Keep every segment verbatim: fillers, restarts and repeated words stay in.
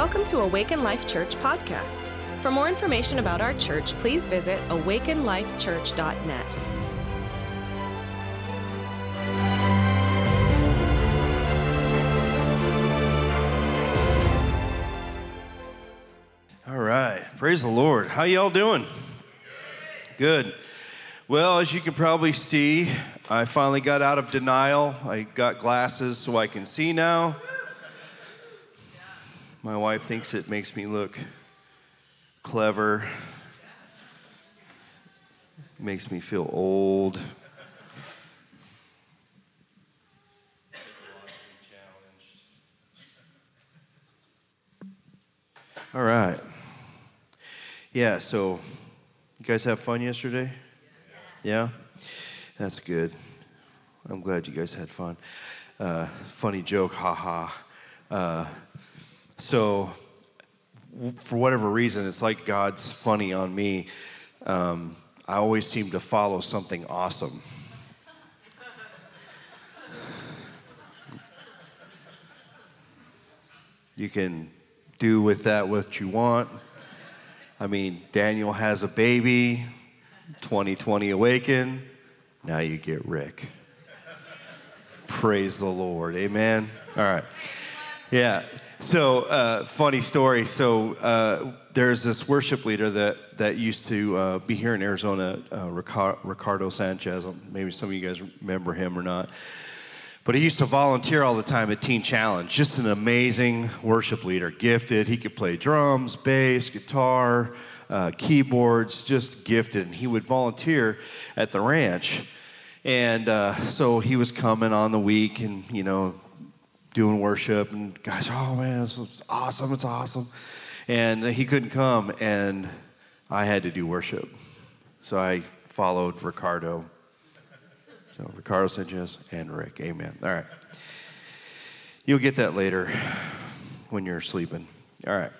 Welcome to Awaken Life Church podcast. For more information about our church, please visit awaken life church dot net. All right. Praise the Lord. How y'all doing? Good. Well, as you can probably see, I finally got out of denial. I got glasses so I can see now. My wife thinks it makes me look clever. Makes me feel old. All right. Yeah, so you guys have fun yesterday? Yeah? That's good. I'm glad you guys had fun. Uh, funny joke, haha. Uh, so, w- for whatever reason, it's like God's funny on me. Um, I always seem to follow something awesome. You can do with that what you want. I mean, Daniel has a baby, twenty twenty Awaken, now you get Rick. Praise the Lord, amen? All right, yeah, so uh, funny story. So uh, there's this worship leader that, that used to uh, be here in Arizona, uh, Ricardo Sanchez. Maybe some of you guys remember him or not. But he used to volunteer all the time at Teen Challenge. Just an amazing worship leader, gifted. He could play drums, bass, guitar, uh, keyboards, just gifted. And he would volunteer at the ranch. And uh, so he was coming on the week and, you know, doing worship. And guys, oh, man, it's, it's awesome, it's awesome. And he couldn't come, and I had to do worship. So I followed Ricardo. So Ricardo Sanchez and Rick, amen. All right. You'll get that later when you're sleeping. All right.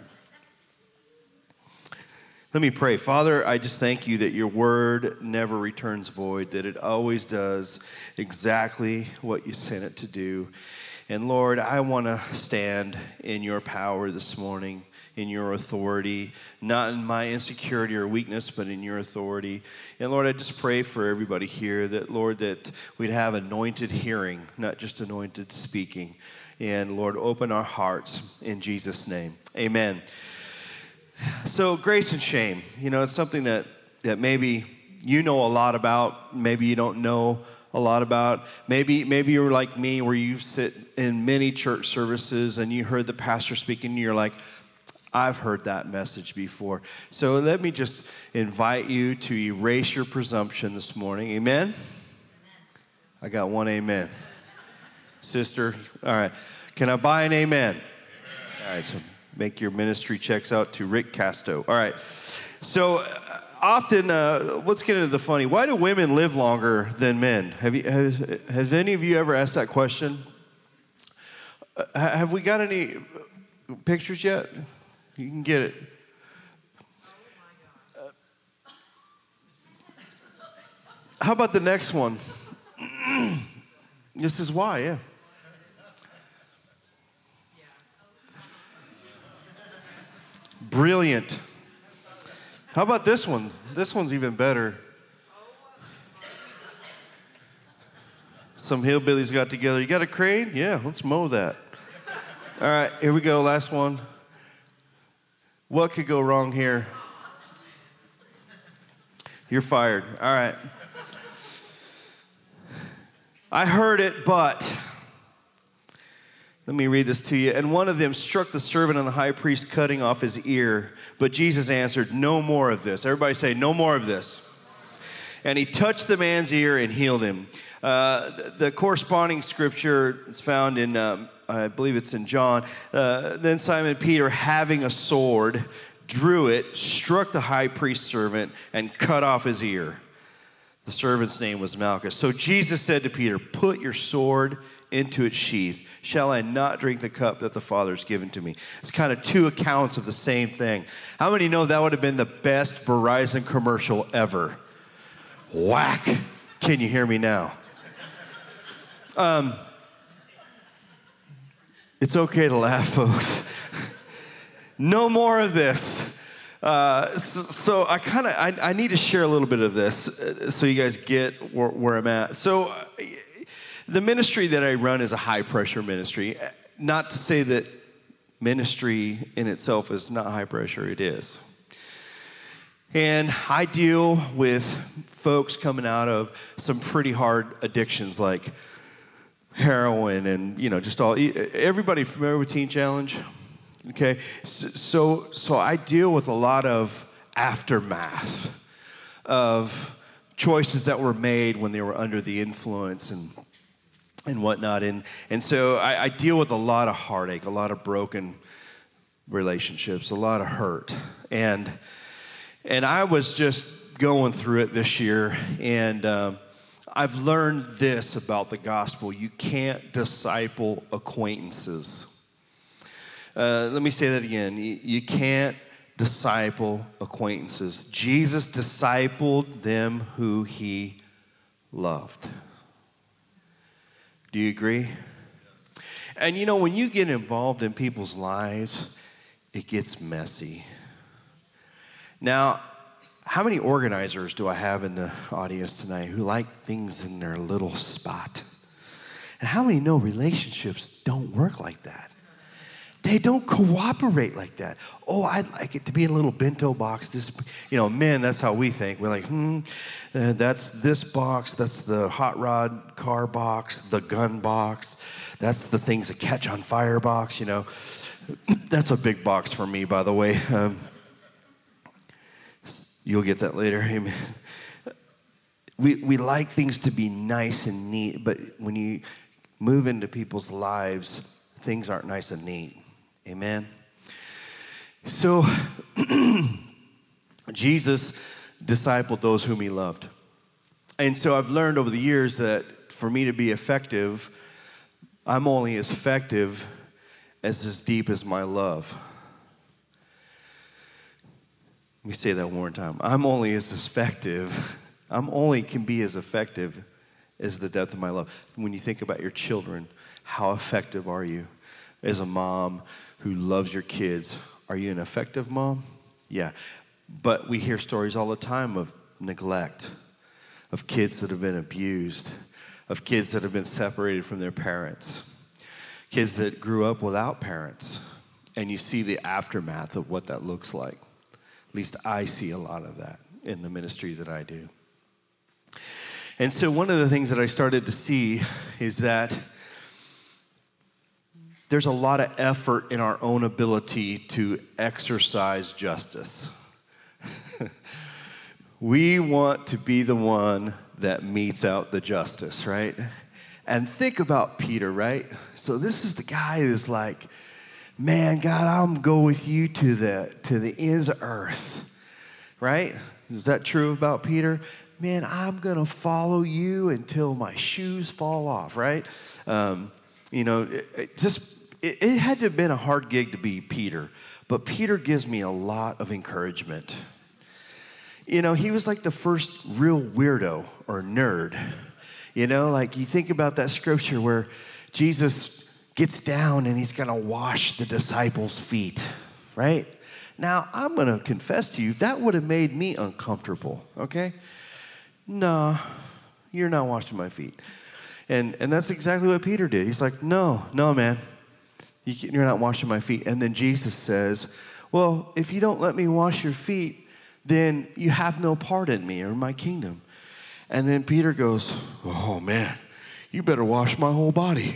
Let me pray. Father, I just thank you that your word never returns void, that it always does exactly what you sent it to do. And Lord, I want to stand in your power this morning, in your authority, not in my insecurity or weakness, but in your authority. And Lord, I just pray for everybody here that, Lord, that we'd have anointed hearing, not just anointed speaking. And Lord, open our hearts in Jesus' name. Amen. So grace and shame, you know, it's something that, that maybe you know a lot about, maybe you don't know a lot about. Maybe maybe you're like me where you sit in many church services and you heard the pastor speaking and you're like, I've heard that message before. So let me just invite you to erase your presumption this morning. Amen? Amen. I got one amen. Sister, all right. Can I buy an amen? Amen? All right, so make your ministry checks out to Rick Casto. All right. So uh, often, uh, let's get into the funny. Why do women live longer than men? Have you, has, has any of you ever asked that question? Uh, have we got any pictures yet? You can get it. Uh, how about the next one? This is why, yeah. Brilliant. How about this one? This one's even better. Some hillbillies got together. You got a crane? Yeah, let's mow that. All right, here we go. Last one. What could go wrong here? You're fired. All right. I heard it, but let me read this to you. And one of them struck the servant of the high priest, cutting off his ear. But Jesus answered, no more of this. Everybody say, no more of this. And he touched the man's ear and healed him. Uh, the, the corresponding scripture is found in um, I believe it's in John. Uh, then Simon Peter, having a sword, drew it, struck the high priest's servant, and cut off his ear. The servant's name was Malchus. So Jesus said to Peter, put your sword into its sheath. Shall I not drink the cup that the Father has given to me? It's kind of two accounts of the same thing. How many know that would have been the best Verizon commercial ever? Whack. Can you hear me now? Um, it's okay to laugh, folks. no more of this. Uh, so, so I kind of, I, I need to share a little bit of this uh, so you guys get where, where I'm at. So uh, the ministry that I run is a high pressure ministry. Not to say that ministry in itself is not high pressure, it is. And I deal with folks coming out of some pretty hard addictions like heroin and, you know, just all, everybody familiar with Teen Challenge? Okay, so so I deal with a lot of aftermath of choices that were made when they were under the influence and and whatnot, and and so I, I deal with a lot of heartache, a lot of broken relationships, a lot of hurt, and and I was just going through it this year, and um, I've learned this about the gospel: you can't disciple acquaintances. Uh, let me say that again. You, you can't disciple acquaintances. Jesus discipled them who he loved. Do you agree? And you know, when you get involved in people's lives, it gets messy. Now, how many organizers do I have in the audience tonight who like things in their little spot? And how many know relationships don't work like that? They don't cooperate like that. Oh, I'd like it to be in a little bento box. This, you know, men, that's how we think. We're like, hmm, uh, that's this box. That's the hot rod car box, the gun box. That's the things that catch on fire box, you know. That's a big box for me, by the way. Um, you'll get that later. Amen. We, we like things to be nice and neat, but when you move into people's lives, things aren't nice and neat. Amen. So Jesus discipled those whom he loved. And so I've learned over the years that for me to be effective, I'm only as effective as as deep as my love. Let me say that one more time. I'm only as effective, I'm only can be as effective as the depth of my love. When you think about your children, how effective are you? As a mom who loves your kids, are you an effective mom? Yeah. But we hear stories all the time of neglect, of kids that have been abused, of kids that have been separated from their parents, kids that grew up without parents. And you see the aftermath of what that looks like. At least I see a lot of that in the ministry that I do. And so one of the things that I started to see is that there's a lot of effort in our own ability to exercise justice. We want to be the one that metes out the justice, right? And think about Peter, right? So this is the guy who's like, man, God, I'm going to go with you to the, to the ends of earth, right? Is that true about Peter? Man, I'm going to follow you until my shoes fall off, right? Um, you know, it, it just... It, it had to have been a hard gig to be Peter, but Peter gives me a lot of encouragement. You know, he was like the first real weirdo or nerd. You know, like you think about that scripture where Jesus gets down and he's going to wash the disciples' feet, right? Now, I'm going to confess to you, that would have made me uncomfortable, okay? No, you're not washing my feet. And, and that's exactly what Peter did. He's like, no, no, man. You're not washing my feet. And then Jesus says, well, if you don't let me wash your feet, then you have no part in me or in my kingdom. And then Peter goes, oh, man, you better wash my whole body.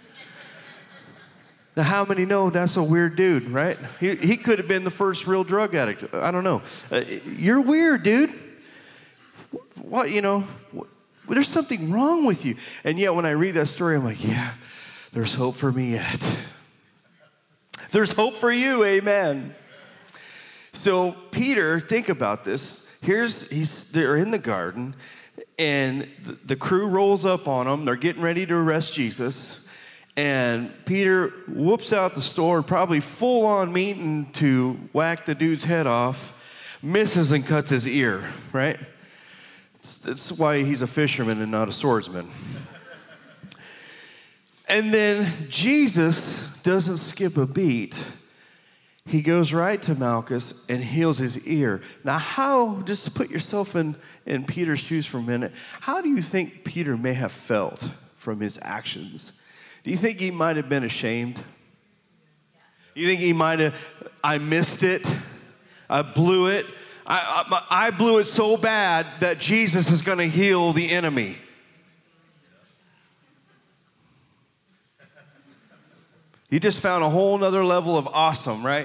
Now, how many know that's a weird dude, right? He, he could have been the first real drug addict. I don't know. Uh, you're weird, dude. What, you know, what, there's something wrong with you. And yet when I read that story, I'm like, yeah, there's hope for me yet. There's hope for you, amen. So Peter, think about this. Here's, he's, they're in the garden, and the, the crew rolls up on them. They're getting ready to arrest Jesus. And Peter whoops out the sword, probably full on meaning to whack the dude's head off, misses and cuts his ear, right? That's why he's a fisherman and not a swordsman. And then Jesus doesn't skip a beat. he goes right to Malchus and heals his ear. Now, how, just put yourself in, in Peter's shoes for a minute, how do you think Peter may have felt from his actions? Do you think he might have been ashamed? Do you think he might have, I missed it, I blew it, I, I, I blew it so bad that Jesus is going to heal the enemy? You just found a whole nother level of awesome, right?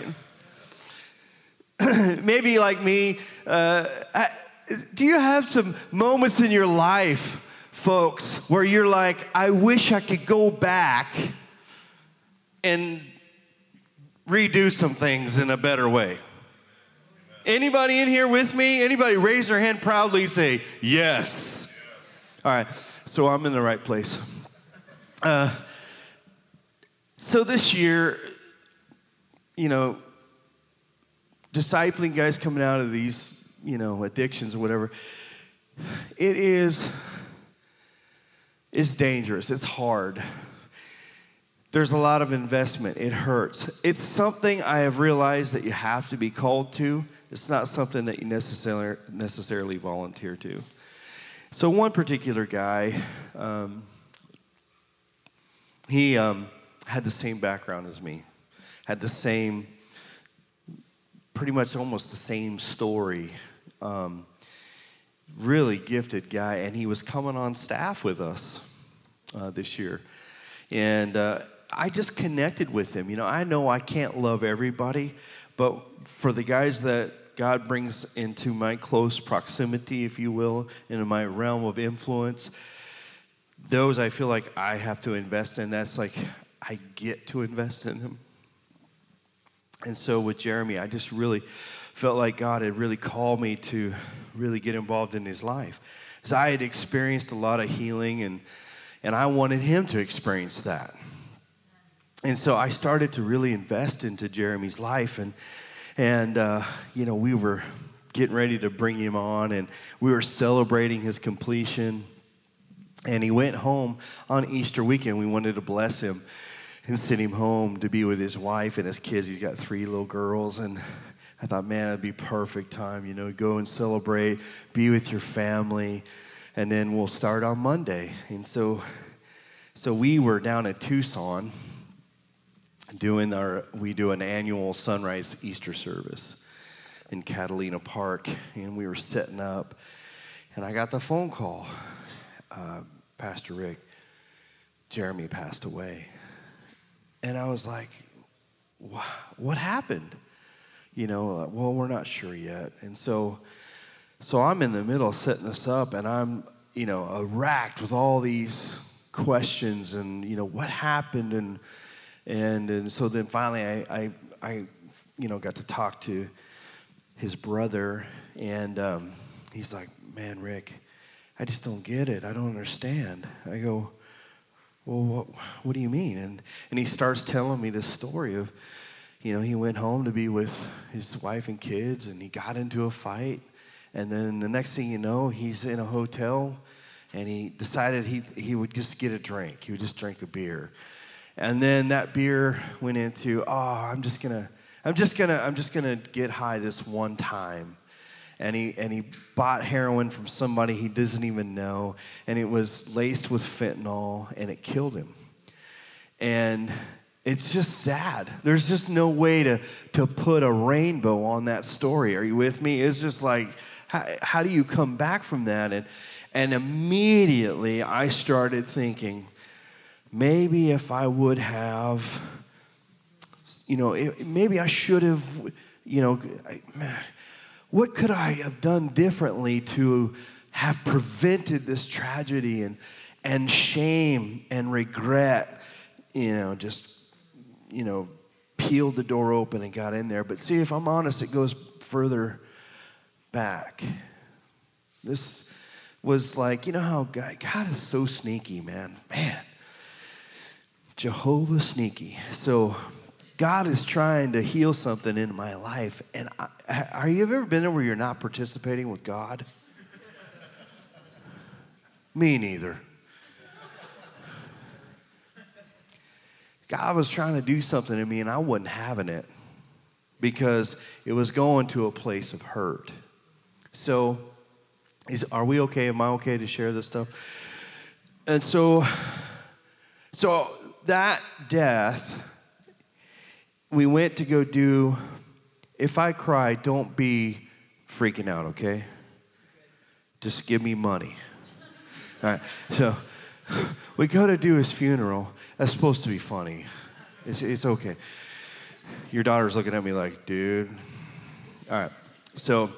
Maybe like me, uh, I, do you have some moments in your life, folks, where you're like, I wish I could go back and redo some things in a better way? Anybody in here with me? Anybody raise their hand proudly, say, yes. All right, so I'm in the right place. Uh, so this year, you know, discipling guys coming out of these, you know, addictions or whatever, it is, it's dangerous. It's hard. There's a lot of investment. It hurts. It's something I have realized that you have to be called to. It's not something that you necessarily necessarily volunteer to. So one particular guy, um, he um, had the same background as me, had the same, pretty much almost the same story. Um, really gifted guy, and he was coming on staff with us uh, this year. And uh, I just connected with him. You know, I know I can't love everybody, but for the guys that God brings into my close proximity, if you will, into my realm of influence, those I feel like I have to invest in. That's like, I get to invest in them. And so with Jeremy, I just really felt like God had really called me to really get involved in his life. Because I had experienced a lot of healing, and, and I wanted him to experience that. And so I started to really invest into Jeremy's life, and And, uh, you know, we were getting ready to bring him on, and we were celebrating his completion. And he went home on Easter weekend. We wanted to bless him and send him home to be with his wife and his kids. He's got three little girls. And I thought, man, it'd be perfect time, you know, go and celebrate, be with your family, and then we'll start on Monday. And so, so we were down at Tucson, doing our, we do an annual sunrise Easter service in Catalina Park, and we were setting up, and I got the phone call, uh, Pastor Rick, Jeremy passed away. And I was like, what happened? You know, uh, well, we're not sure yet. And so, so I'm in the middle of setting this up, and I'm, you know, racked with all these questions, and, you know, what happened, and And and so then finally I, I, I, you know, got to talk to his brother, and um, he's like, man, Rick, I just don't get it. I don't understand. I go, well, what, what do you mean? And and he starts telling me this story of, you know, he went home to be with his wife and kids, and he got into a fight. And then the next thing you know, he's in a hotel, and he decided he he would just get a drink. He would just drink a beer. And then that beer went into, oh, I'm just gonna, I'm just gonna, I'm just gonna get high this one time. And he and he bought heroin from somebody he doesn't even know, and it was laced with fentanyl, and it killed him. And it's just sad. There's just no way to to put a rainbow on that story. Are you with me? It's just like, how, how do you come back from that? And and immediately I started thinking, maybe if I would have, you know, it, maybe I should have, you know, I, what could I have done differently to have prevented this tragedy, and and shame and regret, you know, just, you know, peeled the door open and got in there. But see, if I'm honest, it goes further back. This was like, you know how God, God is so sneaky, man. Man. Jehovah sneaky. So God is trying to heal something in my life. And I, are you ever been there where you're not participating with God? Me neither. God was trying to do something in me, and I wasn't having it. because it was going to a place of hurt. So, is are we okay? Am I okay to share this stuff? And so, so that death, we went to go do. If I cry, don't be freaking out, okay? Just give me money. All right. So we go to do his funeral. That's supposed to be funny. It's it's okay. Your daughter's looking at me like, dude. All right. So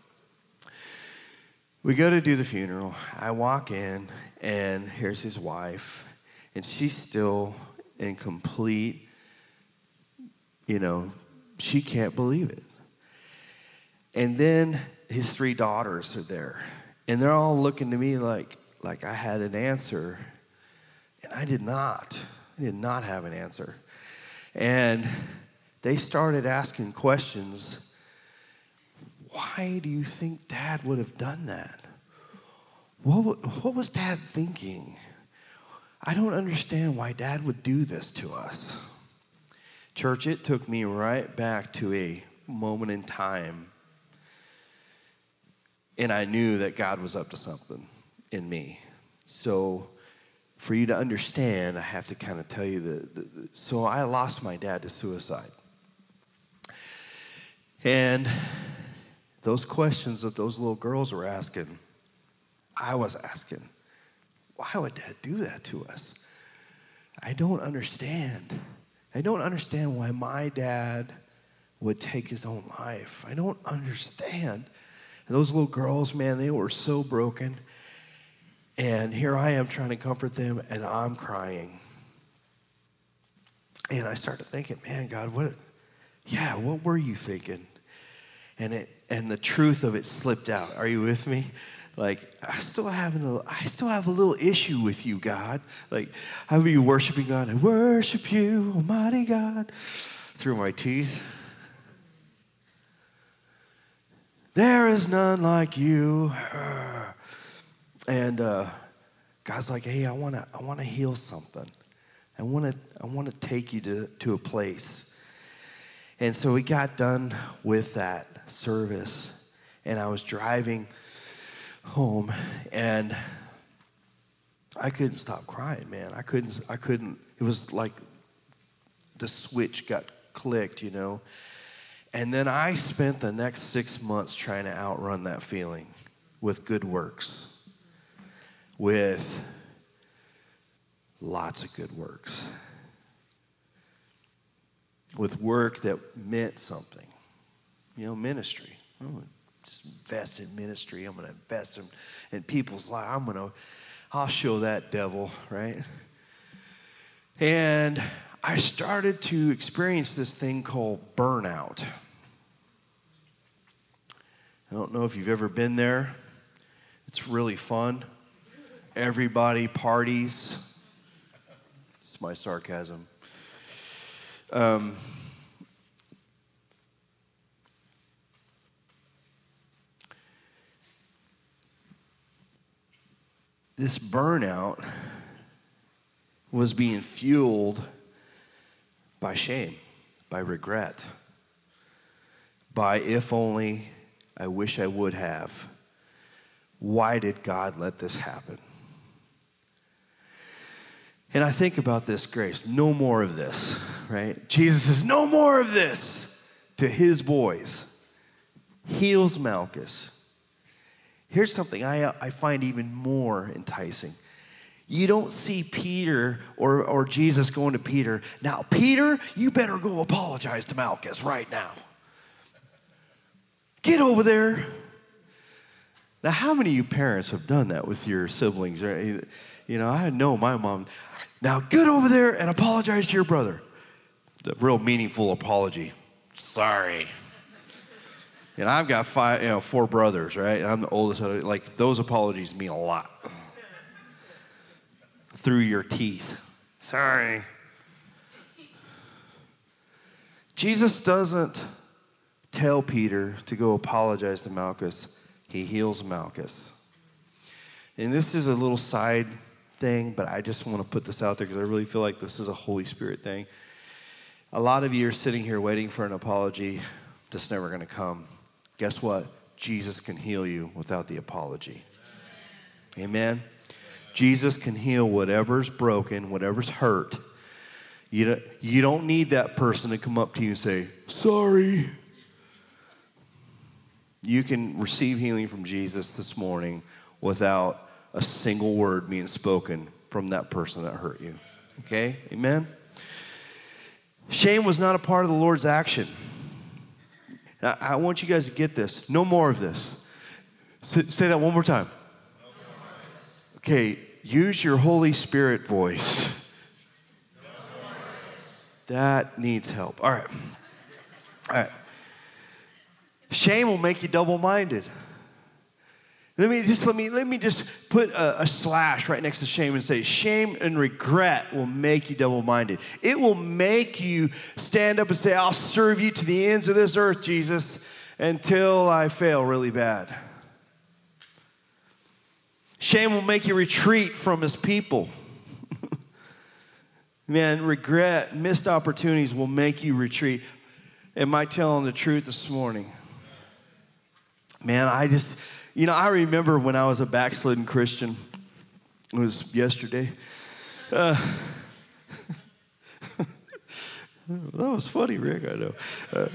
we go to do the funeral. I walk in, and here's his wife, and she's still in complete, you know, she can't believe it. And then his three daughters are there, and they're all looking to me like, like I had an answer, and I did not. I did not have an answer. And they started asking questions. Why do you think Dad would have done that? What, what was Dad thinking? I don't understand why Dad would do this to us. Church, it took me right back to a moment in time, and I knew that God was up to something in me. So for you to understand, I have to kind of tell you that. The, the, so I lost my dad to suicide. And those questions that those little girls were asking, I was asking, why would Dad do that to us? I don't understand. I don't understand why my dad would take his own life. I don't understand. And those little girls, man, they were so broken. And here I am trying to comfort them, and I'm crying. And I started thinking, man, God, what, yeah, what were you thinking? And it, and the truth of it slipped out. Are you with me? Like, I still have a, I still have a little issue with you, God. Like, how are you worshiping God? I worship you, Almighty God, through my teeth. There is none like you. And uh, God's like, hey, I wanna, I wanna heal something. I wanna, I wanna take you to, to a place. And so we got done with that service, and I was driving home, and I couldn't stop crying, man. I couldn't, I couldn't, it was like the switch got clicked, you know. And then I spent the next six months trying to outrun that feeling with good works, with lots of good works, with work that meant something, you know, ministry. Oh, just invest in ministry. I'm going to invest in, in people's lives. I'm going to, I'll show that devil, right? And I started to experience this thing called burnout. I don't know if you've ever been there. It's really fun. Everybody parties. It's my sarcasm. Um, This burnout was being fueled by shame, by regret, by if only, I wish I would have. Why did God let this happen? And I think about this grace, no more of this, right? Jesus says, no more of this to his boys. Heals Malchus. Here's something I, I find even more enticing. You don't see Peter or, or Jesus going to Peter, now, Peter, you better go apologize to Malchus right now. Get over there. Now, how many of you parents have done that with your siblings? Right? You know, I know my mom. Now, get over there and apologize to your brother. The real meaningful apology. Sorry. And I've got five, you know, four brothers, right? And I'm the oldest. Like, those apologies mean a lot. Through your teeth. Sorry. Jesus doesn't tell Peter to go apologize to Malchus. He heals Malchus. And this is a little side thing, but I just want to put this out there because I really feel like this is a Holy Spirit thing. A lot of you are sitting here waiting for an apology that's never going to come. Guess what? Jesus can heal you without the apology. Amen. Amen. Jesus can heal whatever's broken, whatever's hurt. You don't, you don't need that person to come up to you and say, sorry. You can receive healing from Jesus this morning without a single word being spoken from that person that hurt you. Okay? Amen? Shame was not a part of the Lord's action. Now, I want you guys to get this. No more of this. S- say that one more time. Okay, use your Holy Spirit voice. That needs help. All right. All right. Shame will make you double-minded. Let me just let me let me just put a, a slash right next to shame and say, shame and regret will make you double-minded. It will make you stand up and say, I'll serve you to the ends of this earth, Jesus, until I fail really bad. Shame will make you retreat from his people. Man, regret, missed opportunities will make you retreat. Am I telling the truth this morning? Man, I just, you know, I remember when I was a backslidden Christian. It was yesterday. Uh, that was funny, Rick, I know. Uh,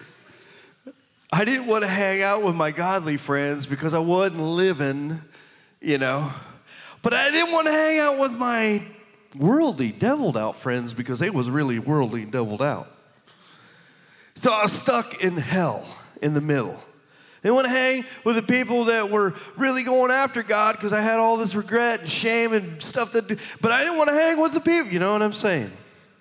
I didn't want to hang out with my godly friends because I wasn't living, you know. But I didn't want to hang out with my worldly, deviled out friends because they was really worldly and deviled out. So I was stuck in hell in the middle. I didn't want to hang with the people that were really going after God because I had all this regret and shame and stuff that, but I didn't want to hang with the people. You know what I'm saying?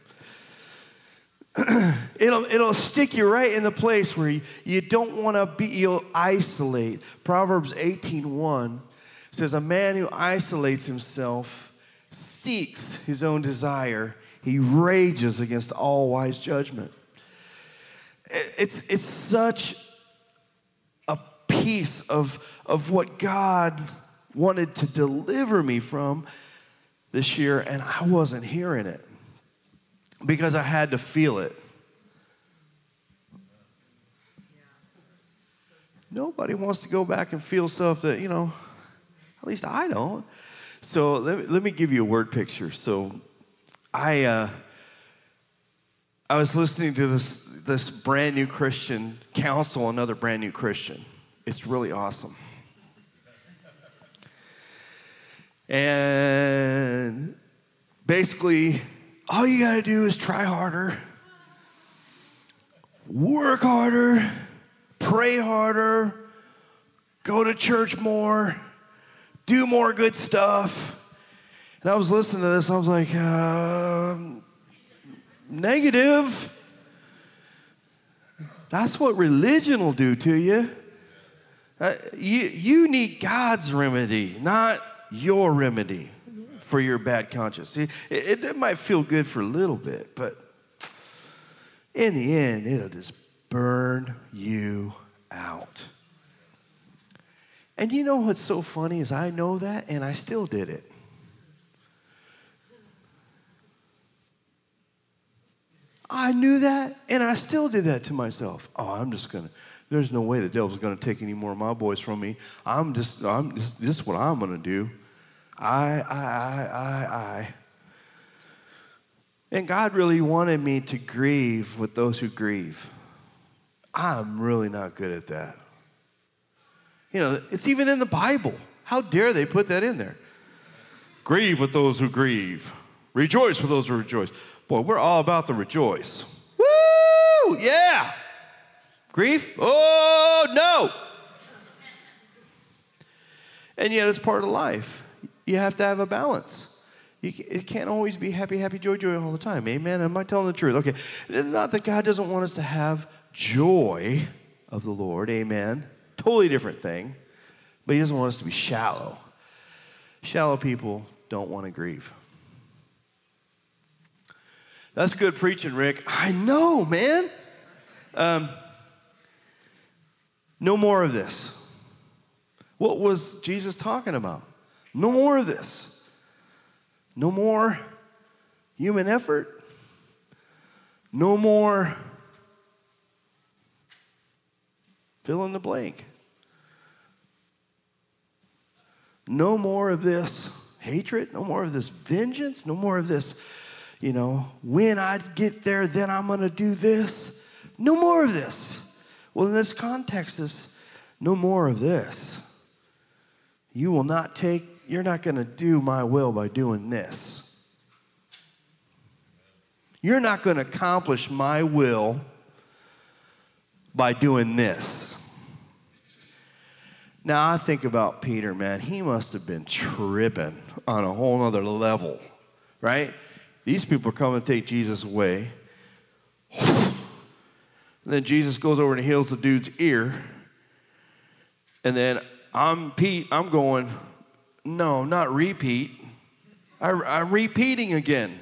it'll it'll stick you right in the place where you, you don't want to be. You'll isolate. Proverbs eighteen one says, "A man who isolates himself seeks his own desire. He rages against all wise judgment." It's it's such a piece of of what God wanted to deliver me from this year, and I wasn't hearing it because I had to feel it. Nobody wants to go back and feel stuff that, you know, at least I don't. So let me, let me give you a word picture. So I uh, I was listening to this this brand new Christian counsel another brand new Christian. It's really awesome. And basically, all you got to do is try harder, work harder, pray harder, go to church more, do more good stuff. And I was listening to this, I was like, uh, negative. That's what religion will do to you. Uh, you. You need God's remedy, not your remedy for your bad conscience. It, it, it might feel good for a little bit, but in the end, it'll just burn you out. And you know what's so funny is I know that, and I still did it. I knew that, and I still did that to myself. Oh, I'm just going to, there's no way the devil's going to take any more of my boys from me. I'm just, I'm just, this is what I'm going to do. I, I, I, I, I. And God really wanted me to grieve with those who grieve. I'm really not good at that. You know, it's even in the Bible. How dare they put that in there? Grieve with those who grieve. Rejoice with those who rejoice. Boy, we're all about the rejoice. Woo! Yeah! Grief? Oh, no! And yet it's part of life. You have to have a balance. You can, it can't always be happy, happy, joy, joy all the time. Amen? Am I telling the truth? Okay. Not that God doesn't want us to have joy of the Lord. Amen? Totally different thing. But he doesn't want us to be shallow. Shallow people don't want to grieve. That's good preaching, Rick. I know, man. Um, no more of this. What was Jesus talking about? No more of this. No more human effort. No more Fill in the blank. No more of this hatred. No more of this vengeance. No more of this, you know, when I get there, then I'm going to do this. No more of this. Well, in this context is no more of this. You will not take, you're not going to do my will by doing this. You're not going to accomplish my will by doing this. Now, I think about Peter, man. He must have been tripping on a whole other level, right? These people are coming to take Jesus away. And then Jesus goes over and heals the dude's ear. And then I'm Pete, I'm going, no, not repeat. I, I'm repeating again.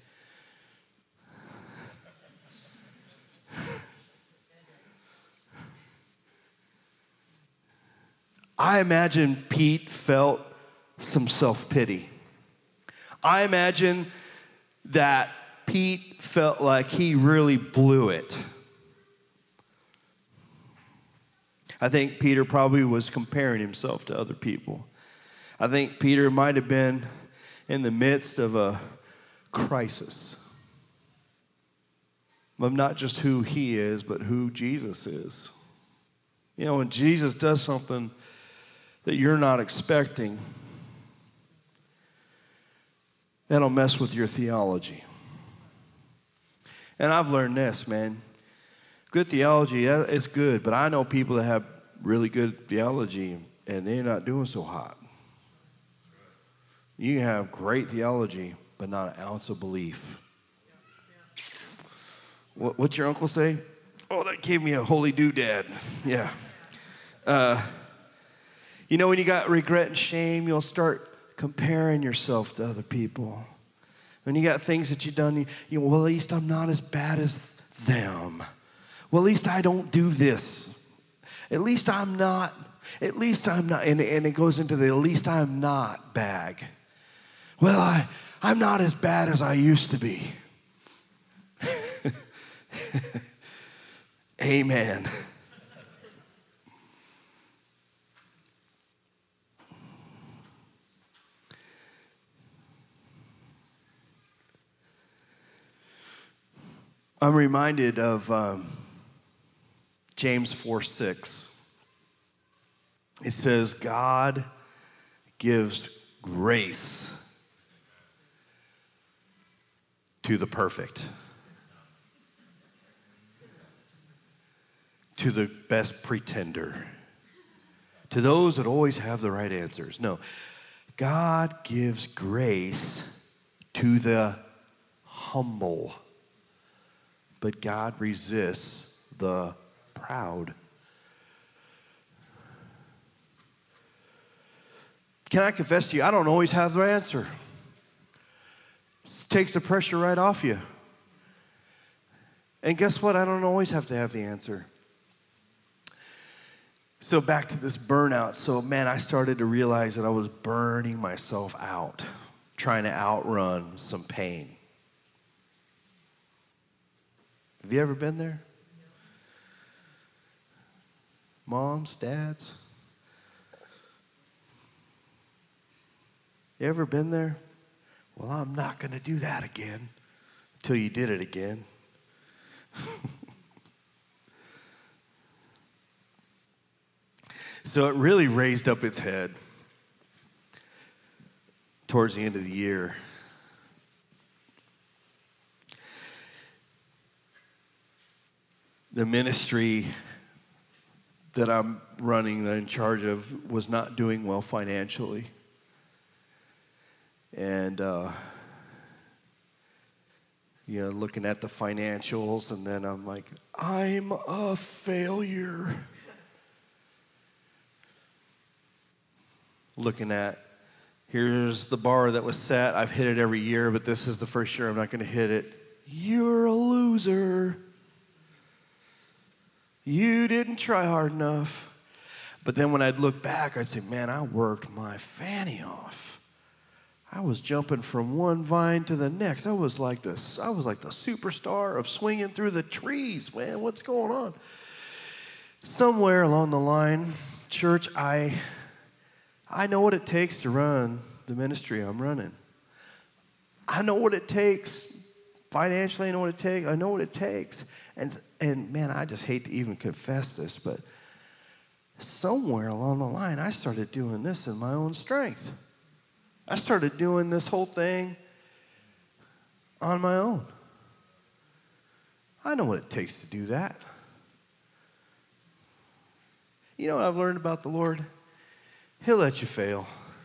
I imagine Pete felt some self-pity. I imagine that Pete felt like he really blew it. I think Peter probably was comparing himself to other people. I think Peter might have been in the midst of a crisis of not just who he is, but who Jesus is. You know, when Jesus does something that you're not expecting, that'll mess with your theology. And I've learned this, man. Good theology is good, but I know people that have really good theology and they're not doing so hot. You can have great theology, but not an ounce of belief. What, what's your uncle say? Oh, that gave me a holy doodad. Yeah. Uh, you know, when you got regret and shame, you'll start comparing yourself to other people. When you got things that you've done, you, you well, at least I'm not as bad as them. Well, at least I don't do this. At least I'm not, at least I'm not, and, and it goes into the at least I'm not bag. Well, I, I'm not as bad as I used to be. Amen. I'm reminded of um, James four six. It says, God gives grace to the perfect, to the best pretender, to those that always have the right answers. No, God gives grace to the humble. But God resists the proud. Can I confess to you, I don't always have the answer. It takes the pressure right off you. And guess what? I don't always have to have the answer. So back to this burnout. So, man, I started to realize that I was burning myself out, trying to outrun some pain. Have you ever been there? Moms, dads? You ever been there? Well, I'm not going to do that again until you did it again. So it really raised up its head towards the end of the year. The ministry that I'm running, that I'm in charge of, was not doing well financially. And, uh, you know, looking at the financials, and then I'm like, I'm a failure. Looking at, here's the bar that was set. I've hit it every year, but this is the first year I'm not going to hit it. You're a loser. You didn't try hard enough. But then when I'd look back, I'd say, man, I worked my fanny off. I was jumping from one vine to the next. I was like this. I was like the superstar of swinging through the trees, man. What's going on? somewhere along the line, church, I I know what it takes to run the ministry I'm running. I know what it takes financially. I know what it takes. I know what it takes. And and man, I just hate to even confess this, but somewhere along the line, I started doing this in my own strength. I started doing this whole thing on my own. I know what it takes to do that. You know what I've learned about the Lord? He'll let you fail.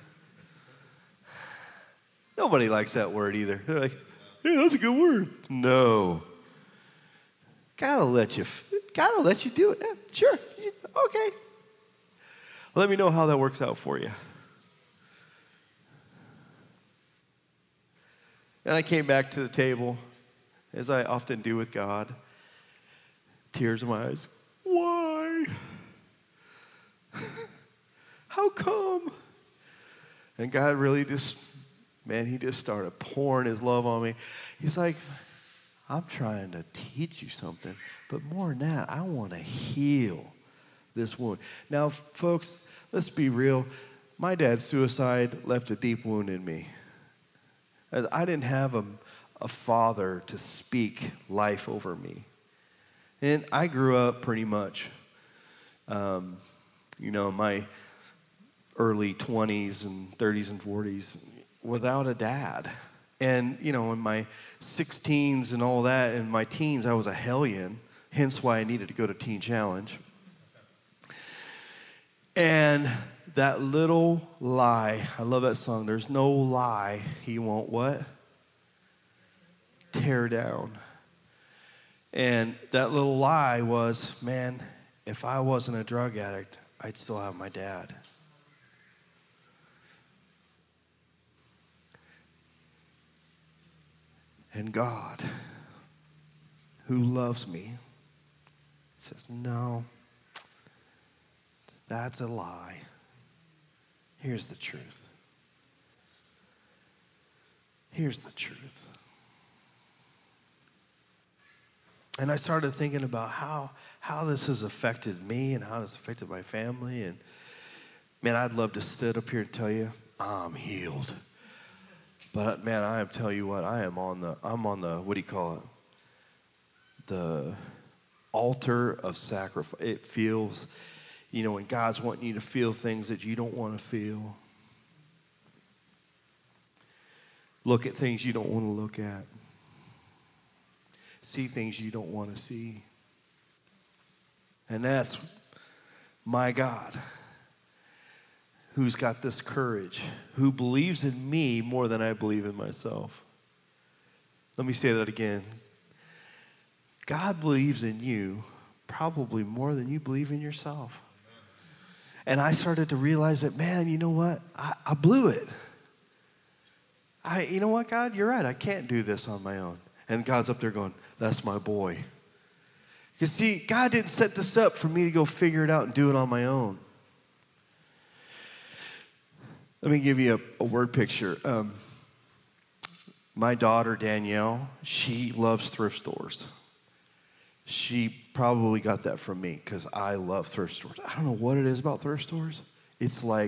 Nobody likes that word either. They're like, yeah, that's a good word. No. Gotta let you, gotta let you do it. Yeah, sure. Okay. Let me know how that works out for you. And I came back to the table, as I often do with God. Tears in my eyes. Why? How come? And God really just, man, he just started pouring his love on me. He's like, I'm trying to teach you something, but more than that, I want to heal this wound. Now, folks, let's be real. My dad's suicide left a deep wound in me. I didn't have a, a father to speak life over me. And I grew up pretty much, um, you know, my early twenties and thirties and forties without a dad. And, you know, in my sixteens and all that, in my teens, I was a hellion, hence why I needed to go to Teen Challenge. And that little lie, I love that song, there's no lie he won't what? Tear down. And that little lie was, man, if I wasn't a drug addict, I'd still have my dad. And God, who loves me, says, no, that's a lie. Here's the truth. Here's the truth. And I started thinking about how, how this has affected me and how it's affected my family. And man, I'd love to sit up here and tell you, I'm healed. But man, I am tell you what, I am on the, I'm on the, what do you call it? The altar of sacrifice. It feels, you know, when God's wanting you to feel things that you don't want to feel. Look at things you don't want to look at. See things you don't want to see. And that's my God, who's got this courage, who believes in me more than I believe in myself. Let me say that again. God believes in you probably more than you believe in yourself. And I started to realize that, man, you know what? I, I blew it. I, you know what, God? You're right. I can't do this on my own. And God's up there going, that's my boy. You see, God didn't set this up for me to go figure it out and do it on my own. Let me give you a, a word picture. Um, my daughter, Danielle, she loves thrift stores. She probably got that from me because I love thrift stores. I don't know what it is about thrift stores. It's like,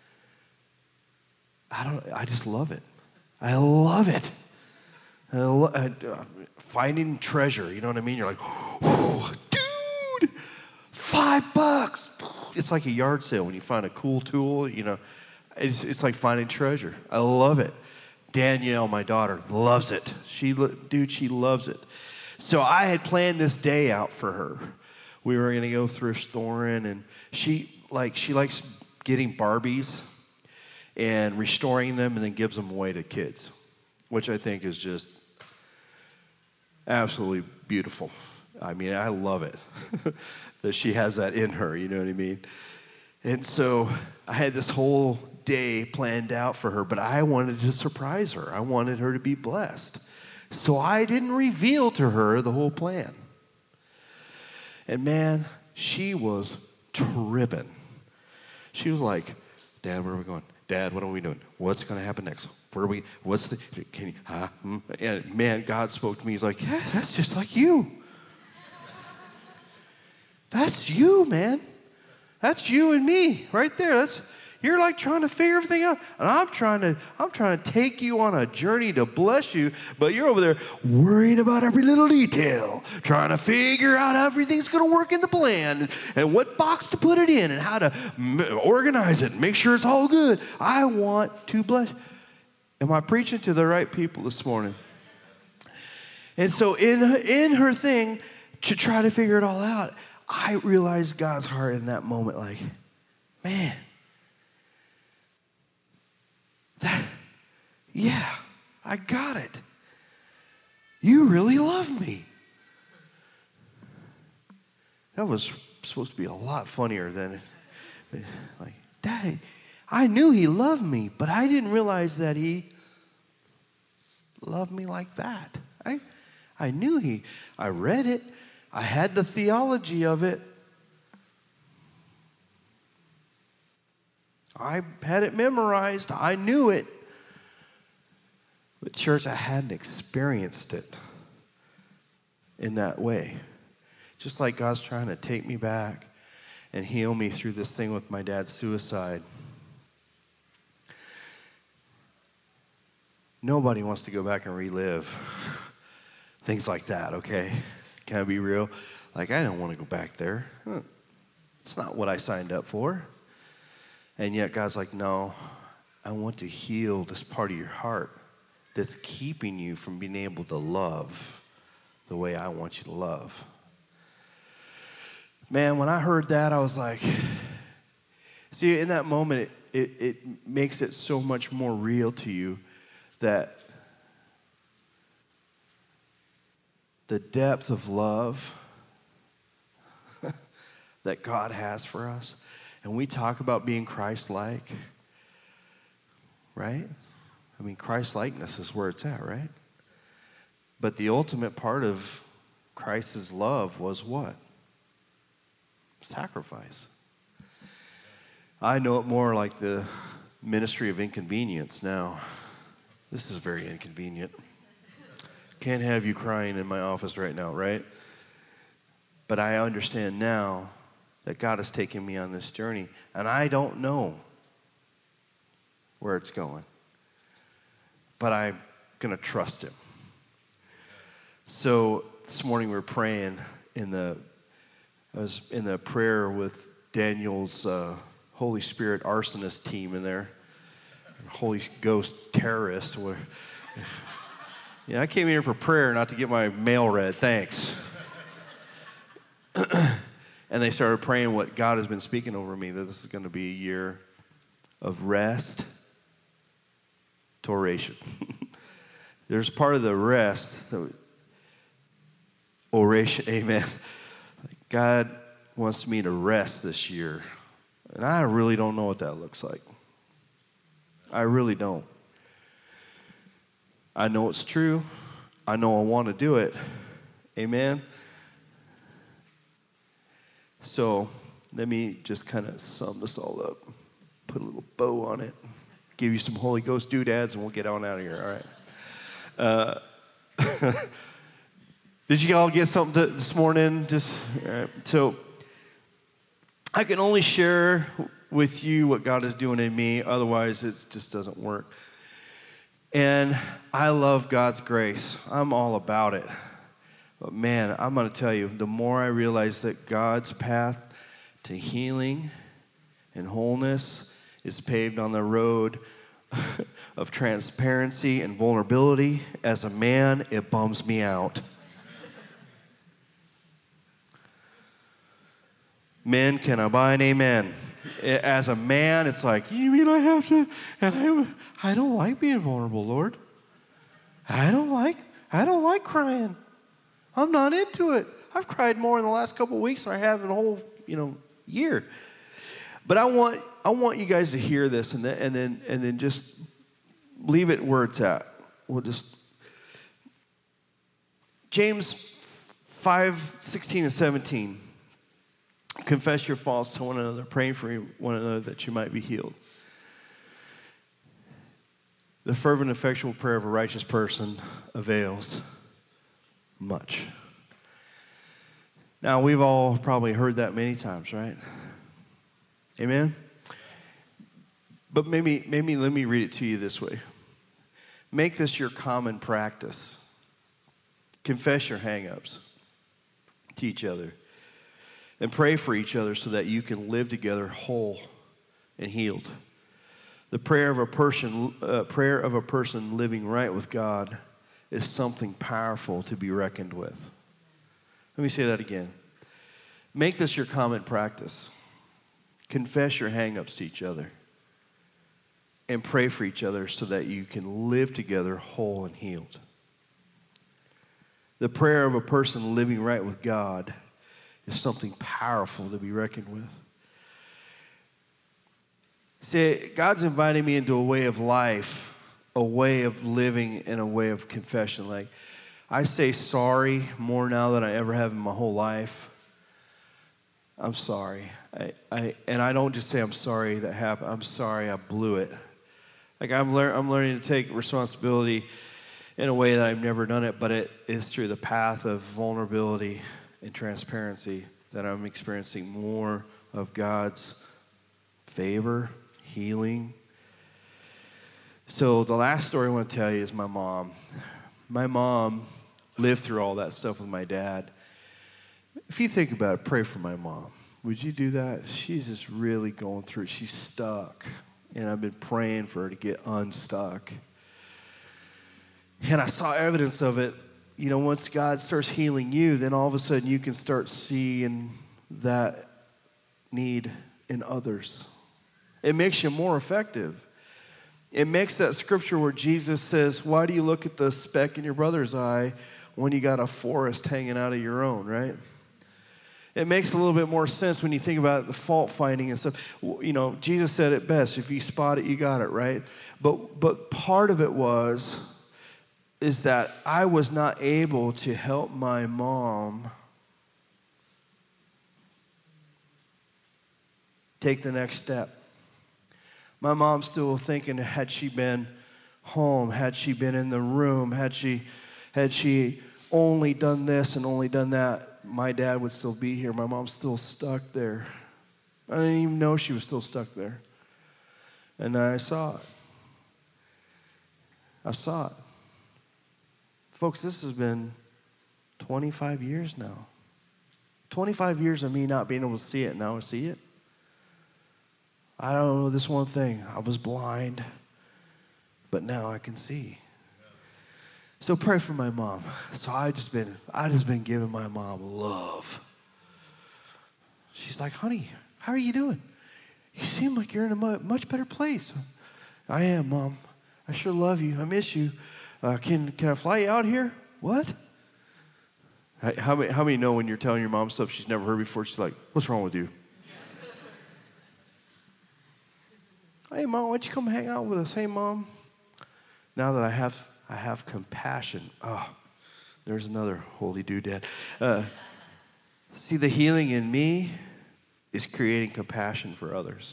I don't, I just love it. I love it. I lo- I, uh, finding treasure, you know what I mean? You're like, oh, dude, five bucks. It's like a yard sale when you find a cool tool, you know. It's, it's like finding treasure. I love it. Danielle, my daughter, loves it. She, dude, she loves it. So I had planned this day out for her. We were going to go thrift storing, and she like she likes getting Barbies and restoring them and then gives them away to kids, which I think is just absolutely beautiful. I mean, I love it that she has that in her, you know what I mean? And so I had this whole day planned out for her, but I wanted to surprise her. I wanted her to be blessed. So I didn't reveal to her the whole plan. And man, she was tripping. She was like, Dad, where are we going? Dad, what are we doing? What's going to happen next? Where are we? What's the, can you, huh? And man, God spoke to me. He's like, yeah, that's just like you. That's you, man. That's you and me right there. That's you're like trying to figure everything out. And I'm trying to, I'm trying to take you on a journey to bless you, but you're over there worrying about every little detail, trying to figure out how everything's going to work in the plan and, and what box to put it in and how to m- organize it and make sure it's all good. I want to bless. Am I preaching to the right people this morning? And so in, in her thing, to try to figure it all out, I realized God's heart in that moment, like, man, that, yeah, I got it. You really love me. That was supposed to be a lot funnier than, like, Dad, I knew he loved me, but I didn't realize that he loved me like that. I, I knew he, I read it. I had the theology of it. I had it memorized. I knew it. But church, I hadn't experienced it in that way. Just like God's trying to take me back and heal me through this thing with my dad's suicide. Nobody wants to go back and relive things like that, okay? Can I be real? Like, I don't want to go back there. It's not what I signed up for. And yet God's like, no, I want to heal this part of your heart that's keeping you from being able to love the way I want you to love. Man, when I heard that, I was like, see, in that moment, it, it, it makes it so much more real to you that the depth of love that God has for us. And we talk about being Christ-like, right? I mean, Christ-likeness is where it's at, right? But the ultimate part of Christ's love was what? Sacrifice. I know it more like the ministry of inconvenience now. This is very inconvenient. Can't have you crying in my office right now, right? But I understand now that God has taken me on this journey, and I don't know where it's going. But I'm going to trust him. So this morning we were praying in the, I was in the prayer with Daniel's uh, Holy Spirit arsonist team in there, Holy Ghost terrorist. Where, yeah, I came here for prayer, not to get my mail read. Thanks. And they started praying what God has been speaking over me, that this is going to be a year of rest to oration. There's part of the rest, the oration, amen. God wants me to rest this year. And I really don't know what that looks like. I really don't. I know it's true. I know I want to do it. Amen. So let me just kind of sum this all up, put a little bow on it, give you some Holy Ghost doodads, and we'll get on out of here, all right? Uh, did you all get something to, this morning? Just all right. So I can only share with you what God is doing in me. Otherwise, it just doesn't work. And I love God's grace. I'm all about it. But man, I'm going to tell you, the more I realize that God's path to healing and wholeness is paved on the road of transparency and vulnerability, as a man, it bums me out. Men, can I buy an amen? As a man, it's like, you mean I have to? And I, I don't like being vulnerable, Lord. I don't like, I don't like crying. I'm not into it. I've cried more in the last couple of weeks than I have in a whole, you know, year. But I want, I want you guys to hear this, and then, and then, and then just leave it where it's at. We'll just James five sixteen and seventeen. Confess your faults to one another, praying for one another that you might be healed. The fervent, effectual prayer of a righteous person avails much. Now, we've all probably heard that many times, right? Amen? But maybe, maybe let me read it to you this way. Make this your common practice. Confess your hang-ups to each other. And pray for each other so that you can live together whole and healed. The prayer of a person, uh, prayer of a person living right with God is something powerful to be reckoned with. Let me say that again. Make this your common practice. Confess your hang-ups to each other. And pray for each other so that you can live together whole and healed. The prayer of a person living right with God is something powerful to be reckoned with. See, God's inviting me into a way of life, a way of living, and a way of confession. Like, I say sorry more now than I ever have in my whole life. I'm sorry. I, I and I don't just say I'm sorry that happened. I'm sorry I blew it. Like, I'm, lear- I'm learning to take responsibility in a way that I've never done it, but it is through the path of vulnerability and transparency that I'm experiencing more of God's favor, healing. So the last story I want to tell you is my mom. My mom lived through all that stuff with my dad. If you think about it, pray for my mom. Would you do that? She's just really going through it. She's stuck. And I've been praying for her to get unstuck. And I saw evidence of it. You know, once God starts healing you, then all of a sudden you can start seeing that need in others. It makes you more effective. It makes that scripture where Jesus says, why do you look at the speck in your brother's eye when you got a forest hanging out of your own, right? It makes a little bit more sense when you think about the fault finding and stuff. You know, Jesus said it best, if you spot it, you got it, right? But but part of it was, is that I was not able to help my mom take the next step. My mom's still thinking, had she been home, had she been in the room, had she had she only done this and only done that, my dad would still be here. My mom's still stuck there. I didn't even know she was still stuck there. And I saw it. I saw it. Folks, this has been twenty-five years now. twenty-five years of me not being able to see it. Now I see it. I don't know this one thing. I was blind, but now I can see. So pray for my mom. So I just been, I just been giving my mom love. She's like, honey, how are you doing? You seem like you're in a much better place. I am, Mom. I sure love you. I miss you. Uh, can can I fly you out here? What? How many, how many know when you're telling your mom stuff she's never heard before, she's like, what's wrong with you? Hey, Mom, why don't you come hang out with us? Hey, Mom. Now that I have I have compassion. Oh, there's another holy doodad. Uh, see, the healing in me is creating compassion for others.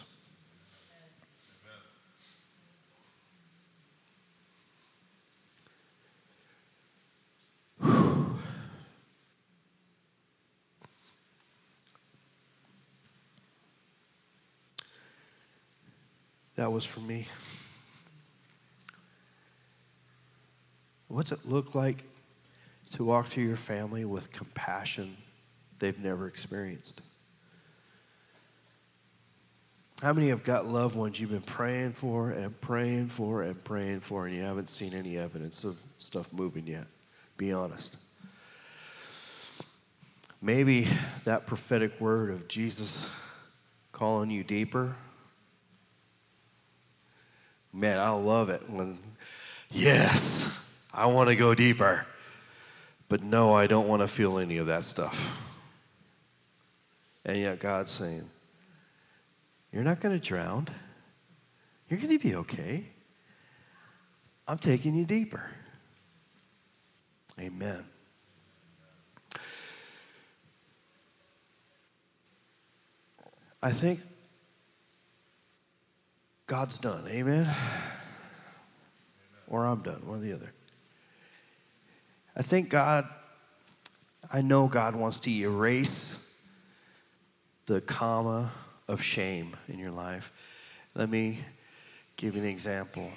That was for me. What's it look like to walk through your family with compassion they've never experienced? How many have got loved ones you've been praying for and praying for and praying for, and you haven't seen any evidence of stuff moving yet? Be honest. Maybe that prophetic word of Jesus calling you deeper. Man, I love it when, yes, I want to go deeper. But no, I don't want to feel any of that stuff. And yet God's saying, you're not going to drown. You're going to be okay. I'm taking you deeper. Amen. I think God's done. Amen? Amen? Or I'm done, one or the other. I think God, I know God wants to erase the comma of shame in your life. Let me give you an example.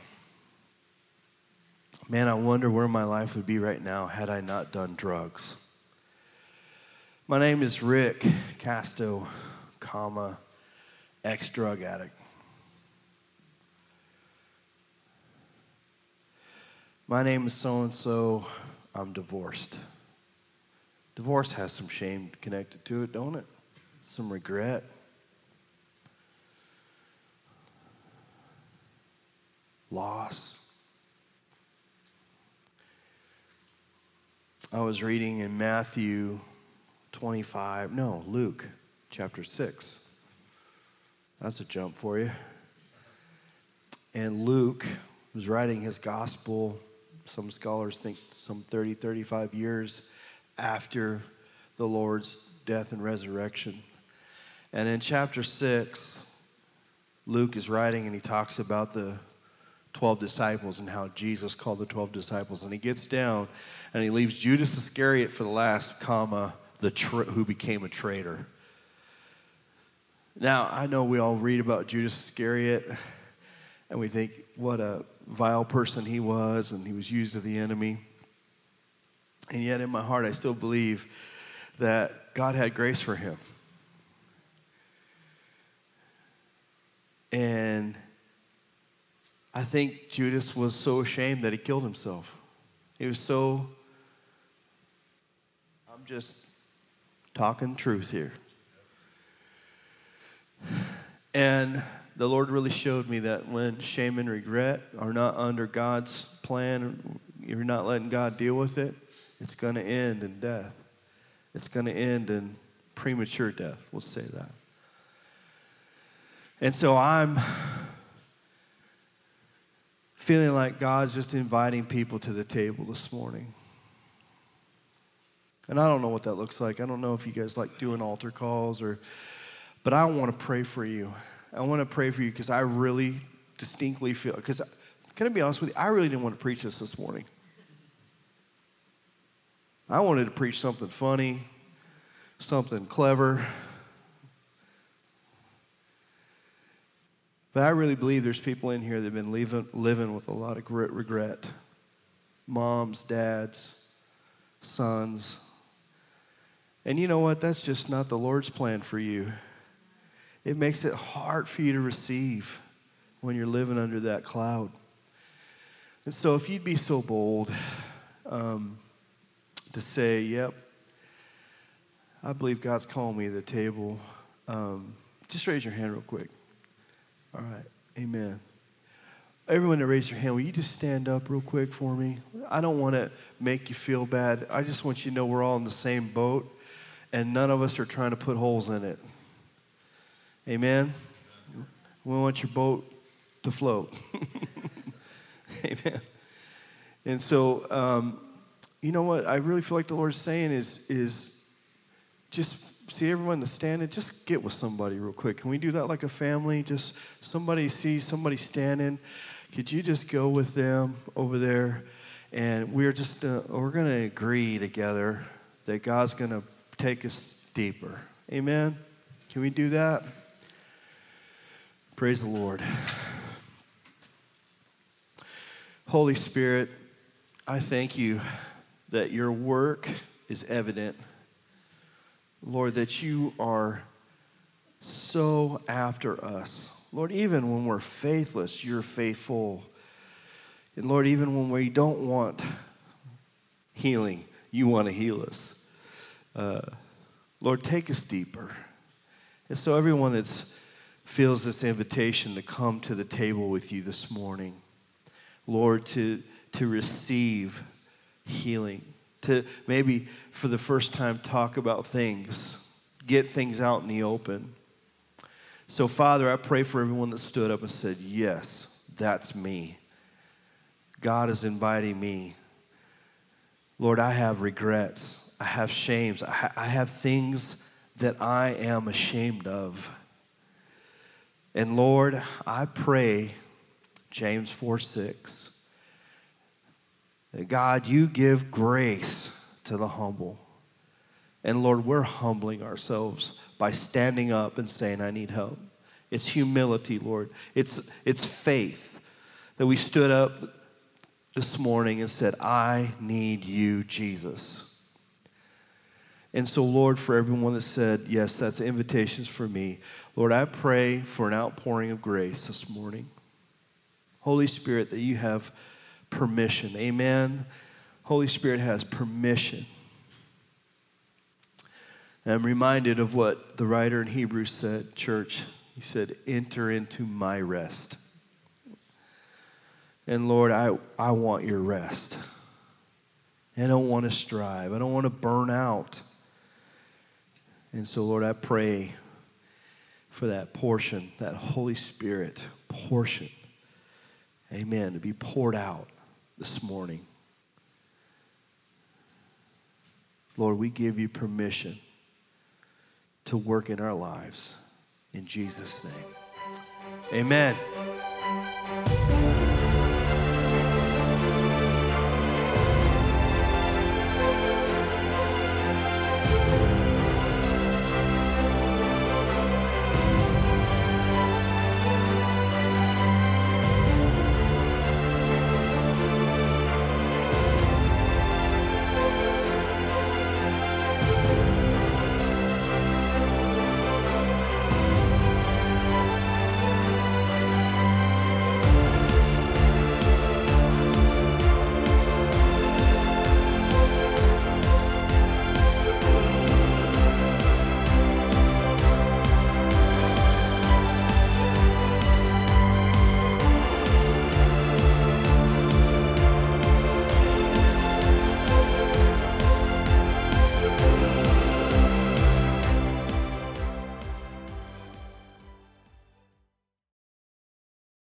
Man, I wonder where my life would be right now had I not done drugs. My name is Rick Casto, comma, ex-drug addict. My name is so-and-so, I'm divorced. Divorce has some shame connected to it, don't it? Some regret. Loss. I was reading in Matthew twenty-five, no, Luke chapter six. That's a jump for you. And Luke was writing his gospel, some scholars think some thirty, thirty-five years after the Lord's death and resurrection. And in chapter six, Luke is writing and he talks about the twelve disciples and how Jesus called the twelve disciples. And he gets down and he leaves Judas Iscariot for the last, comma, the tra- who became a traitor. Now, I know we all read about Judas Iscariot and we think what a vile person he was and he was used of the enemy. And yet in my heart, I still believe that God had grace for him. And I think Judas was so ashamed that he killed himself. He was so, I'm just talking truth here. And the Lord really showed me that when shame and regret are not under God's plan, you're not letting God deal with it, it's going to end in death. It's going to end in premature death. We'll say that. And so I'm feeling like God's just inviting people to the table this morning. And I don't know what that looks like. I don't know if you guys like doing altar calls or, but I want to pray for you. I want to pray for you because I really distinctly feel, because can I be honest with you? I really didn't want to preach this this morning. I wanted to preach something funny, something clever. But I really believe there's people in here that have been living, living with a lot of regret. Moms, dads, sons. And you know what? That's just not the Lord's plan for you. It makes it hard for you to receive when you're living under that cloud. And so if you'd be so bold um, to say, yep, I believe God's calling me to the table, um, just raise your hand real quick. All right, amen. Everyone that raised your hand, will you just stand up real quick for me? I don't want to make you feel bad. I just want you to know we're all in the same boat, and none of us are trying to put holes in it. Amen? We want your boat to float. Amen. And so, um, you know what I really feel like the Lord's saying is, is just see everyone that's standing, just get with somebody real quick. Can we do that like a family? Just somebody sees somebody standing. Could you just go with them over there? And we're just, uh, we're going to agree together that God's going to take us deeper. Amen? Can we do that? Praise the Lord. Holy Spirit, I thank you that your work is evident. Lord, that you are so after us. Lord, even when we're faithless, you're faithful. And Lord, even when we don't want healing, you want to heal us. Uh, Lord, take us deeper. And so everyone that feels this invitation to come to the table with you this morning, Lord, to, to receive healing, to maybe for the first time talk about things, get things out in the open. So, Father, I pray for everyone that stood up and said, yes, that's me. God is inviting me. Lord, I have regrets. I have shames. I, ha- I have things that I am ashamed of. And Lord, I pray, James four six, that God, you give grace to the humble. And Lord, we're humbling ourselves by standing up and saying, I need help. It's humility, Lord. It's, it's faith that we stood up this morning and said, I need you, Jesus. And so, Lord, for everyone that said, yes, that's invitations for me, Lord, I pray for an outpouring of grace this morning. Holy Spirit, that you have permission. Amen. Holy Spirit has permission. And I'm reminded of what the writer in Hebrews said, church. He said, enter into my rest. And Lord, I, I want your rest. I don't want to strive. I don't want to burn out. And so, Lord, I pray for that portion, that Holy Spirit portion, amen, to be poured out this morning. Lord, we give you permission to work in our lives. In Jesus' name, amen.